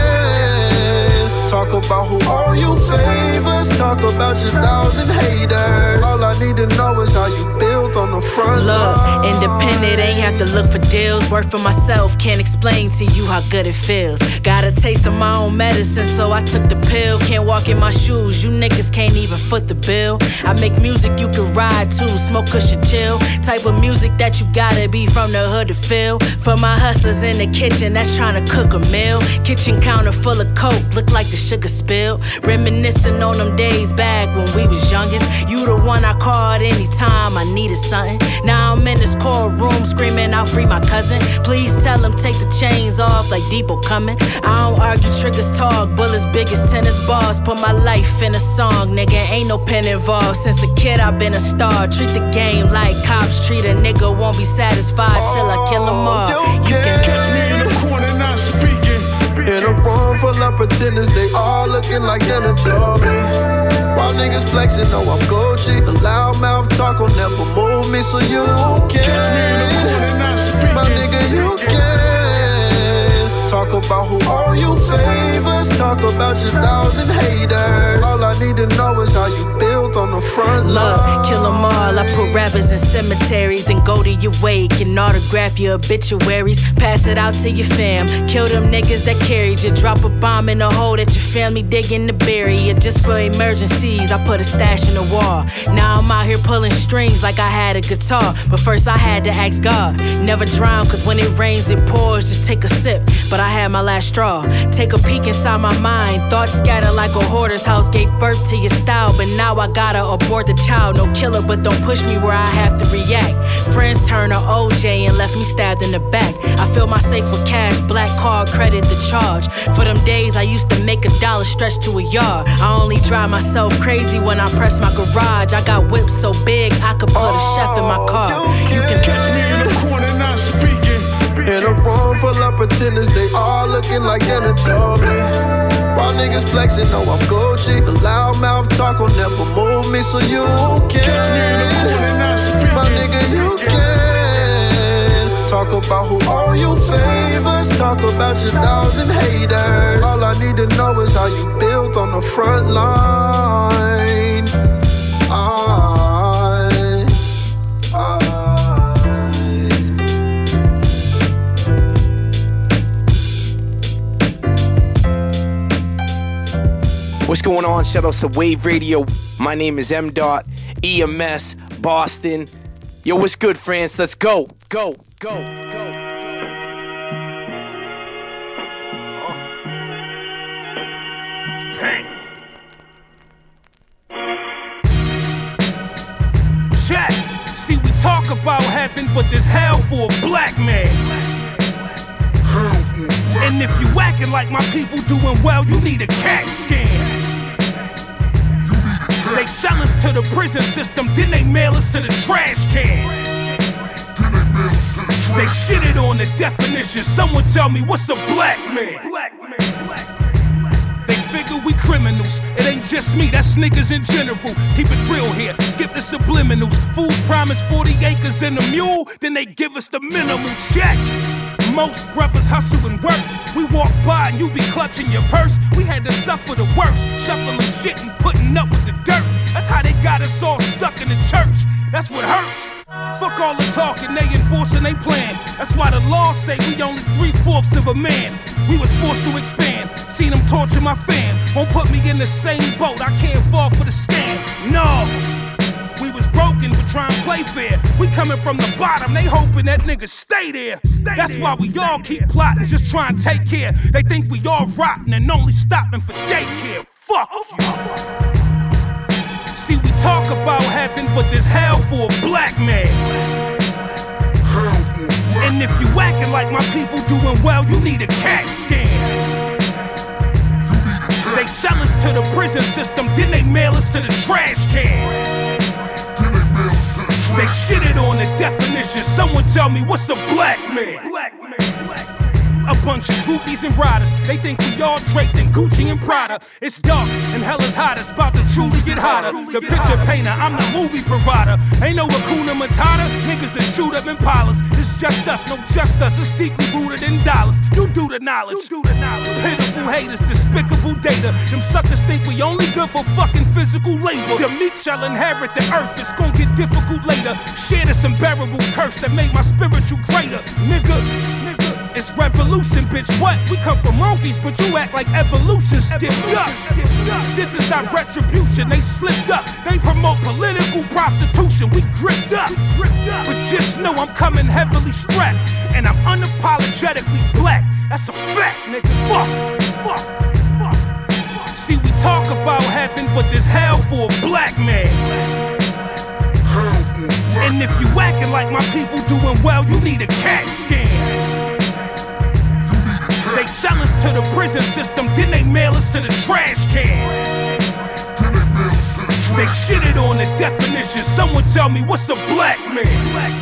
Talk about who all you favors. Talk about your thousand haters. All I need to know is how you built on the front Look, line. independent, ain't have to look for deals. Work for myself, can't explain to you how good it feels. Got a taste of my own medicine, so I took the pill. Can't walk in my shoes, you niggas can't even foot the bill. I make music you can ride to, smoke cushion chill. Type of music that you gotta be from the hood to feel. For my hustlers in the kitchen that's trying to cook a meal. Kitchen counter full of coke, look like the sugar spill. Reminiscing on them days back when we was youngest. You the one I called anytime I needed something. Now I'm in this courtroom screaming out free my cousin. Please tell him take the chains off like Depot coming. I don't argue, triggers talk, bullets big as tennis balls. Put my life in a song, nigga, ain't no pen involved. Since a kid I've been a star. Treat the game like cops treat a nigga. Won't be satisfied till I kill them all. You can catch me in the corner not speaking. In a room full of pretenders, they all looking like Dennis Tubby. While niggas flexing, know I'm Gucci. The loud mouth talk will never move me, so you can. My nigga, you can. Talk about who all you favors. Talk about your thousand haters. All I need to know is how you built on the front line. Look, kill them all. I put rappers in cemeteries, then go to your wake and autograph your obituaries. Pass it out to your fam. Kill them niggas that carried you. Drop a bomb in a hole that your family digging to bury you. Just for emergencies, I put a stash in the wall. Now I'm out here pulling strings like I had a guitar. But first I had to ask God. Never drown, cause when it rains it pours. Just take a sip, but I had my last straw. Take a peek inside my mind. Thoughts scatter like a hoarder's house. Gave birth to your style, but now I gotta abort the child. No killer, but don't push me where I have to react. Friends turn to O J and left me stabbed in the back. I fill my safe with cash, black card, credit the charge. For them days I used to make a dollar stretch to a yard. I only drive myself crazy when I press my garage. I got whips so big I could put a chef in my car. You can catch me in the corner not speaking. In a room full of pretenders, they all looking like Dennis Tubby. While niggas flexing, know I'm Gucci. The loud mouth talk will never move me, so you can. My nigga, you can. Talk about who all you favors. Talk about your thousand haters. All I need to know is how you built on the front line. I, I. What's going on? Shout out to Wave Radio. My name is M. Dot, E M S, Boston. Yo, what's good, France? Let's go, go, go, go. Pain. Check. See, we talk about heaven, but there's hell for a black man. And if you acting like my people doing well, you need a CAT scan. They sell us to the prison system, then they mail us to the trash can. They shitted on the definition. Someone tell me, what's a black man? They figure we criminals. It ain't just me, that's niggas in general. Keep it real here, skip the subliminals. Fools promise forty acres and a mule, then they give us the minimum check. Most brothers hustle and work. We walk by and you be clutching your purse. We had to suffer the worst, shuffling shit and putting up with the dirt. That's how they got us all stuck in the church. That's what hurts. Fuck all the talking, they enforcing they plan. That's why the law say we only three-fourths of a man. We was forced to expand. Seen them torture my fam. Won't put me in the same boat. I can't fall for the scam. No. We was broken, but trying to play fair. We coming from the bottom, they hoping that niggas stay there. That's why we all keep plotting, just trying to take care. They think we all rotten and only stopping for daycare. Fuck you. See, we talk about heaven, but there's hell for a black man. And if you acting like my people doing well, you need a CAT scan. They sell us to the prison system, then they mail us to the trash can. They shitted on the definition. Someone tell me what's a black man? A bunch of groupies and riders. They think we all draped in Gucci and Prada. It's dark and hell is hot. It's about to truly get hotter. The picture painter, I'm the movie provider. Ain't no Hakuna Matata. Niggas that shoot up Impalas. It's just us, no just us. It's deeply rooted in dollars. You do the knowledge. Pitiful haters, despicable data. Them suckers think we only good for fucking physical labor. The meek shall inherit the earth. It's gonna get difficult later. Share this unbearable curse that made my spiritual greater. Nigga, nigga. It's revolution, bitch. What? We come from monkeys, but you act like evolution skipped us. This is our retribution. They slipped up. They promote political prostitution. We gripped up. But just know I'm coming heavily strapped, and I'm unapologetically black. That's a fact, nigga. Fuck. Fuck. See, we talk about heaven, but there's hell for a black man. And if you acting like my people doing well, you need a CAT scan. They sell us to the prison system, then they mail us to the trash can. They shitted on the definition. Someone tell me what's a black man?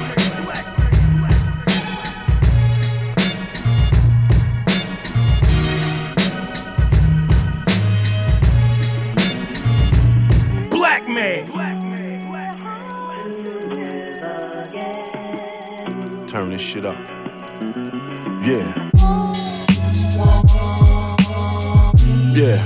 Black man. Turn this shit up. Yeah. Yeah.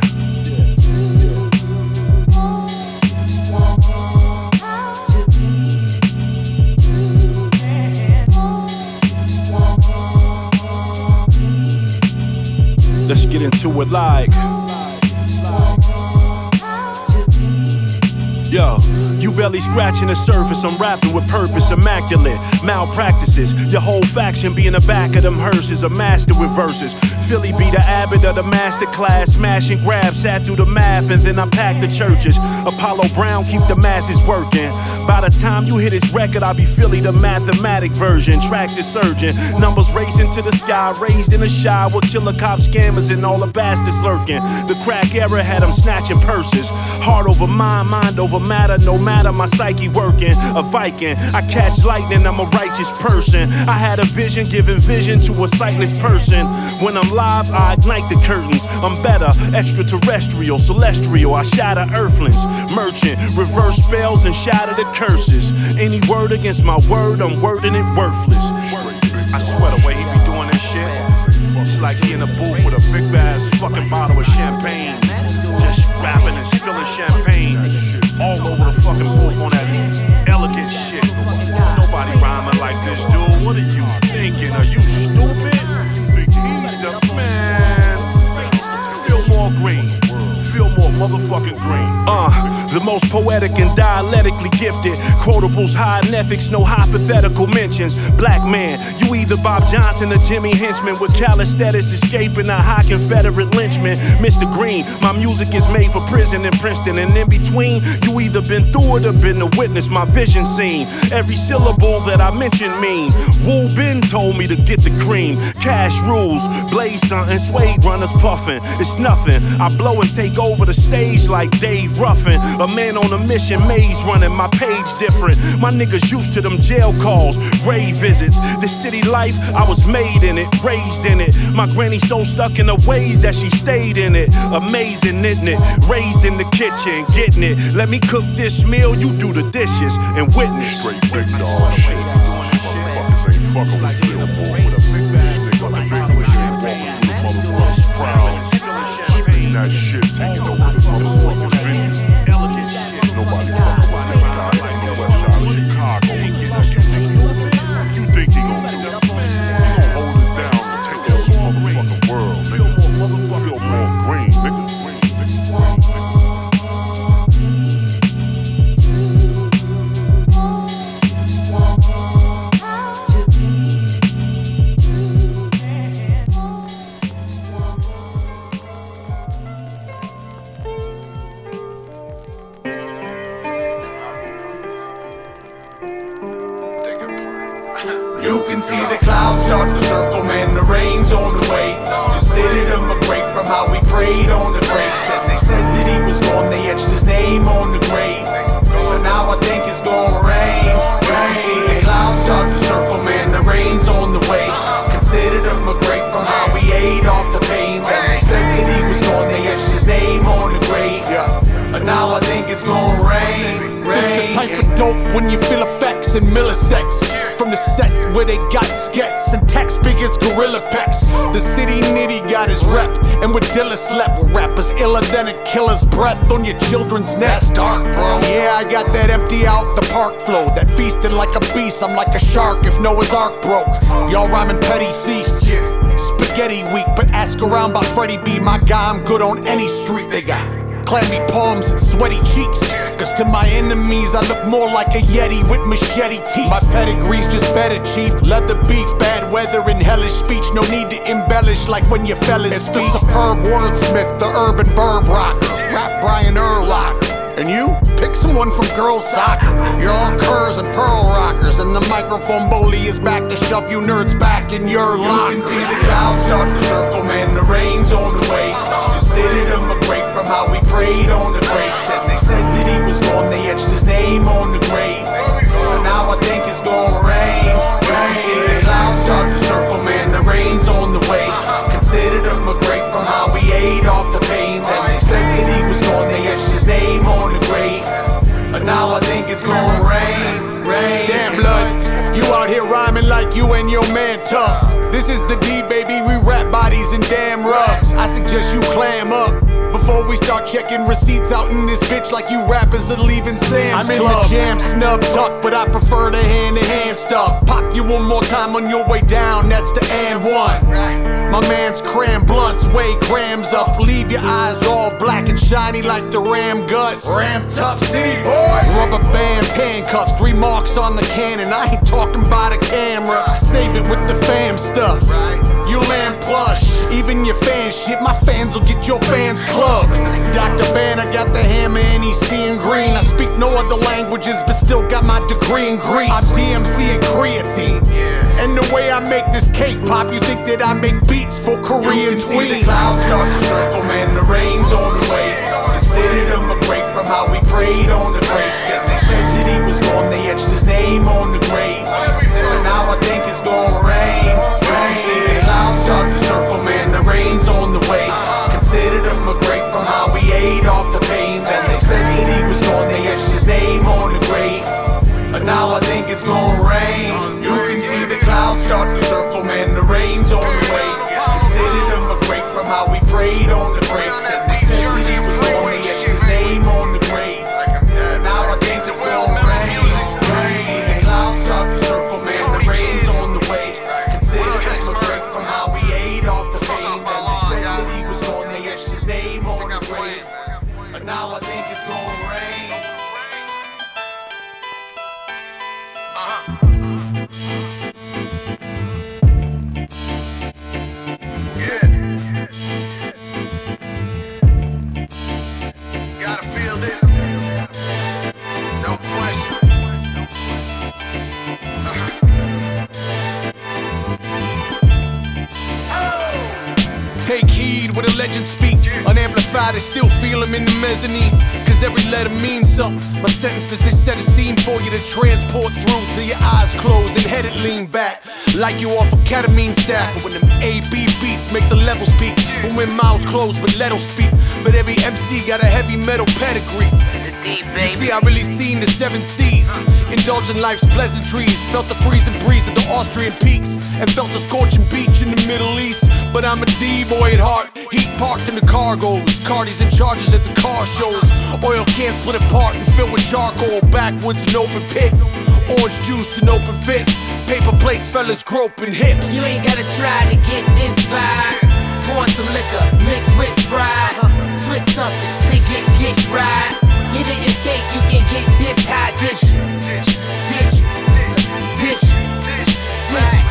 Let's get into it like. Yo, you barely scratching the surface. I'm rapping with purpose, immaculate malpractices. Your whole faction be in the back of them hearses, a master with verses. Philly be the abbot of the master class, smash and grab, sat through the math, and then I packed the churches. Apollo Brown keep the masses working. By the time you hit his record, I'll be Philly the mathematic version. Tracks is surging, numbers racing to the sky, raised in a shy with killer cop scammers and all the bastards lurking. The crack era had them snatching purses. Heart over mind, mind over matter, no matter my psyche working. A Viking, I catch lightning, I'm a righteous person. I had a vision, giving vision to a sightless person. When I'm live, I ignite the curtains. I'm better, extraterrestrial, celestial. I shatter earthlings, merchant, reverse spells and shatter the curses. Any word against my word, I'm wording it worthless. I swear the way he be doing this shit, it's like he in a booth with a big ass fucking bottle of champagne, just rapping and spilling champagne all over the fucking booth on that elegant shit. Nobody rhyming like this, dude. What are you thinking? Are you stupid? He's the man. Feel more green. Feel more motherfucking green. Uh, the most poetic and dialectically gifted. Quotables high in ethics, no hypothetical mentions. Black man, you either Bob Johnson or Jimmy Henchman with calisthenics escaping a high Confederate lynchman. Mister Green, my music is made for prison in Princeton, and in between, you either been through it or been to witness my vision scene. Every syllable that I mention mean. Wu Ben told me to get the cream. Cash rules, blaze something, suede runners puffin'. It's nothing. I blow and take over the stage like Dave Ruffin. A man on a mission, maze running, my page different. My niggas used to them jail calls, grave visits. The city life, I was made in it, raised in it. My granny so stuck in the ways that she stayed in it. Amazing, isn't it? Raised in the kitchen, getting it. Let me cook this meal, you do the dishes and witness. Straight big dog shit. Motherfuckers ain't fucking with Phil Moore with a big ass nigga on the big wish ain't walking through the motherfuckers proud. Spitting that shit, taking over the motherfucking venues. Elegant shit. Nobody fucking with that guy like the west side of Chicago. What the fuck you think he gonna do? He gonna hold it down and take over the motherfucking world, nigga. Feel more green, nigga. when you feel effects in milliseconds. From the set where they got skets and text big as gorilla pecs. The city nitty got his rep, and with Dilla slept with rappers iller than a killer's breath on your children's neck. That's dark, bro. Yeah, I got that empty out the park flow, that feasted like a beast. I'm like a shark if Noah's Ark broke. Y'all rhyming petty thieves. Yeah. Spaghetti weak, but ask around by Freddie B. My guy, I'm good on any street. They got clammy palms and sweaty cheeks. Cause to my enemies I look more like a Yeti with machete teeth. My pedigree's just better, chief. Leather beef, bad weather and hellish speech. No need to embellish like when you fellas It's speak. The superb wordsmith, the urban verb rocker, rap Brian Urlacher. And you? Pick someone from girls soccer. You're all curs and pearl rockers, and the microphone bully is back to shove you nerds back in your locker. You can see the clouds start to circle, man, the rain's on the way. Considered him a break from how we prayed on the breaks. Then they said that he was gone, they etched his name on the grave. But now I think it's gonna rain. You can see the clouds start to circle, man, the rain's on the way. Considered him a break from how we ate off the pain. Then they said that he was gone, they etched his name on the grave. But now I think it's gonna rain, rain. Damn blood, you out here rhyming like you and your man tough. This is the D, baby, we rap bodies and damn rugs. I suggest you clam up before we start checking receipts out in this bitch like you rappers are leaving Sam's I'm Club. I'm in the jam snub tuck, but I prefer the hand-to-hand stuff. Pop you one more time on your way down, that's the and one. My man's cram blunts, weigh grams up. Leave your eyes all black and shiny like the ram guts. Ram tough city boy. Rubber bands, handcuffs, three marks on the cannon. I ain't talking about a camera. Save it with the fam stuff. You land plush, even your fan shit. My fans will get your fans clubbed. Doctor Ban, I got the hammer and he's seeing green. I speak no other languages, but still got my degree in Greece. I'm D M C and creatine. And the way I make this cake pop, you think that I make beats for Korean tweets. You can see the clouds start to circle, man, the rain's on the way. Considered him a break from how we prayed on the breaks. Then they said that he was gone, they etched his name on the grave. But now I think it's gonna rain. You can see the clouds start to circle, man, the rain's on the way. Considered him a break from how we ate off the pain. Then they said that he was gone, they etched his name on the grave. But now I think it's gonna rain. You can see the clouds start to circle, man, the rain's on the way. Considered him a break from how we prayed on the breaks. Then they said that he was gone, they etched his name on the grave. But now I think it's gonna rain. You can see the clouds start to circle, man, the rain's on the way. Considered him a break from how we ate off the pain. Then they said that he was gone, they etched his name on the grave. But now I think it's gonna rain. Take heed when a legend speak. Unamplified, I still feel him in the mezzanine. Cause every letter means something. My sentences, they set a scene for you to transport through till your eyes close and headed lean back. Like you off a ketamine stack. But when them A B beats make the levels peak. From when mouths close but let 'em speak. But every M C got a heavy metal pedigree. You see, I really seen the seven seas. Indulging life's pleasantries. Felt the freezing breeze of the Austrian peaks. And felt the scorching beach in the Middle East. But I'm a D-boy at heart. Heat parked in the cargoes. Cardi's in charges at the car shows. Oil cans split apart and filled with charcoal. Backwoods an open pit. Orange juice and open fits. Paper plates, fellas groping hips. You ain't gotta try to get this vibe. Pour some liquor, mix with Sprite. Twist something, take it, get right. You didn't think you can get this high, did you? Did you? Did you? Did you?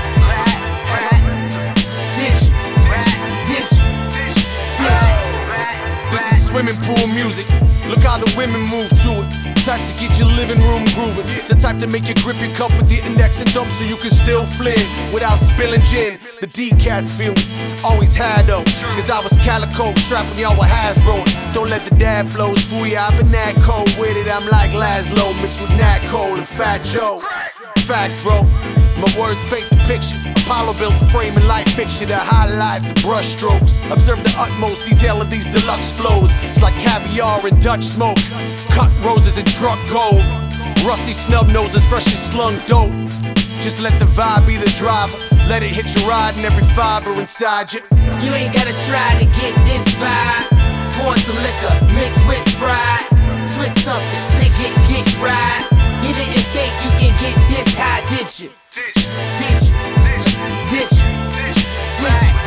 Swimming pool music, look how the women move to it. Type to get your living room grooving. The type to make you grip your cup with the index and thumb so you can still fling without spilling gin. The D-cats feel me, always had though. Cause I was calico, strapping y'all with Hasbro. Don't let the dad flows fool ya, I've been that cold with it. I'm like Laszlo mixed with Nat Cole and Fat Joe. Facts, bro. My words paint the picture. Apollo built the frame and light fixture to highlight the brush strokes. Observe the utmost detail of these deluxe flows. It's like caviar and Dutch smoke. Cut roses and truck gold. Rusty snub noses, freshly slung dope. Just let the vibe be the driver. Let it hit your ride and every fiber inside you. You ain't gotta try to get this vibe. Pour some liquor, mix with Sprite. Twist something, take it, get right. You didn't think you can get this high, did you? Did you? Did you? Did you? Did you?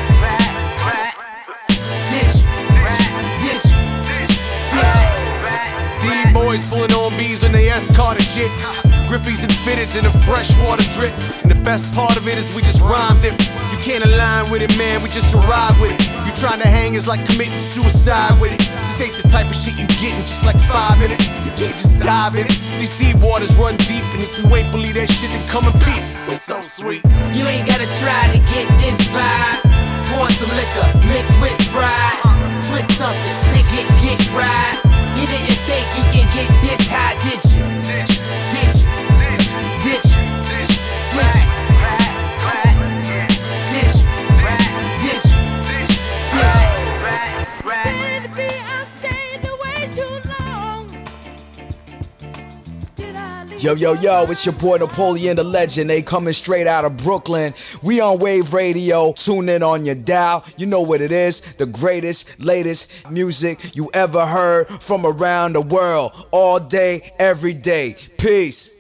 Did you? Did you? D-boys pulling on bees when they S-card and shit. Griffies and fitteds in a freshwater drip. And the best part of it is we just rhymed it. You can't align with it, man, we just arrive with it. You trying to hang is like committing suicide with it. This ain't the type of shit you get in just like five minutes. You can't just dive in it. These deep waters run deep, and if you ain't believe that shit, then come and peep. It's so sweet. You ain't gotta try to get this vibe. Pour some liquor, mix with Sprite. Twist something, take it, get right. You didn't think you can get this high, did you? Did you? Did you? Did you? Did you? Did you? Did you? Baby, I stayed away too long. Yo, yo, yo, it's your boy Napoleon the Legend. They coming straight out of Brooklyn. We on Wave Radio. Tune in on your dial. You know what it is. The greatest, latest music you ever heard from around the world. All day, every day. Peace.